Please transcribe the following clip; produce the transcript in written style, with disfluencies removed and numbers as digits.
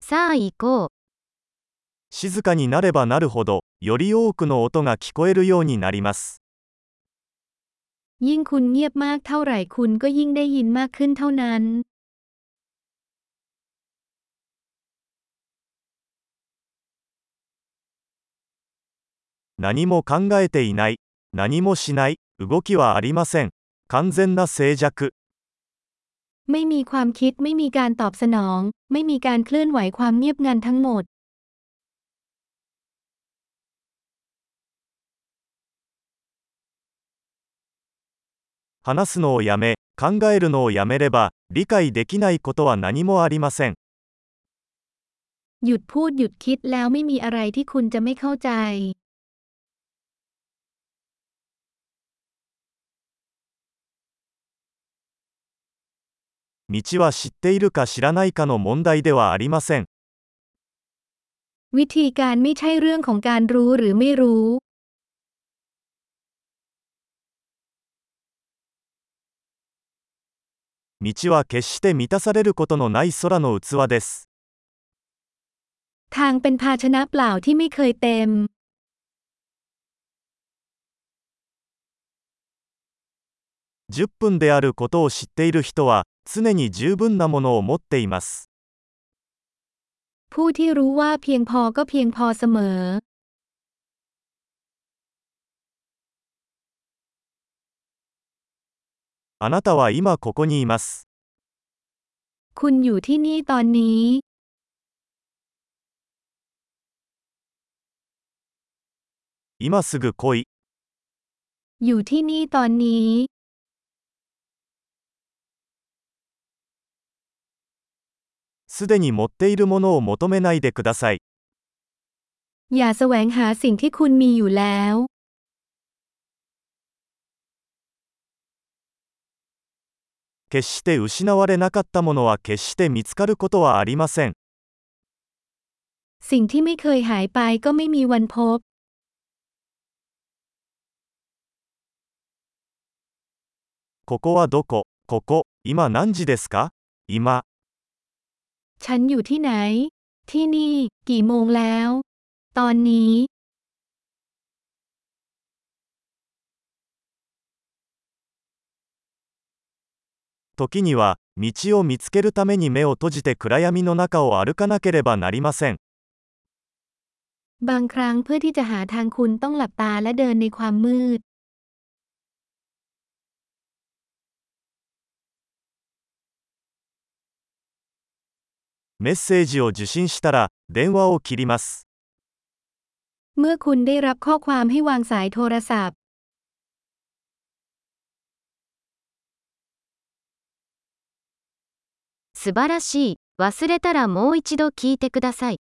さあ行こう。 静かになればなるほど、より多くの音が聞こえるようになります。 ยิ่งคุณเงียบมากเท่าไหร่คุณก็ยิ่งได้ยินมากขึ้นเท่านั้น何も考えていない、何もしない、動きはありません。完全な静寂。 ไม่มีความคิดไม่มีการตอบสนองไม่มีการเคลื่อนไหวความเงียบงันทั้งหมด話すのをやめ、考えるのをやめれば、理解できないことは何もありません。 หยุดพูดหยุดคิดแล้วไม่มีอะไรที่คุณจะไม่เข้าใจ道は知っているか知らないかの問題ではありません。 วิธีการไม่ใช่เรื่องของการรู้หรือไม่รู้道は決して満たされることのない空の器です。 ทางเป็นภาชนะเปล่าที่ไม่เคยเต็ม 10分であることを知っている人は、常に十分なものを持っています。 ผู้ที่รู้ว่าเพียงพอก็เพียงพอเสมอあなたは今ここにいます。 คุณอยู่ที่นี่ตอนนี้今すぐ来い。 อยู่ที่นี่ตอนนี้すでに持っているものを求めないでください。 อย่าแสวงหาสิ่งที่คุณมีอยู่แล้ว決して失われなかったものは決して見つかることはありません。 สิ่งที่ไม่เคยหายไปก็ไม่มีวันพบここはどこ？ここ、今何時ですか？今。 ฉันอยู่ที่ไหนที่นี่กี่โมงแล้วตอนนี้時には、道を見つけるために目を閉じて暗闇の中を歩かなければなりません。 บางครั้งเพื่อที่จะหาทางคุณต้องหลับตาและเดินในความมืดメッセージを受信したら、電話を切ります。 เมื่อคุณได้รับข้อความให้วางสายโทรศัพท์素晴らしい。忘れたらもう一度聞いてください。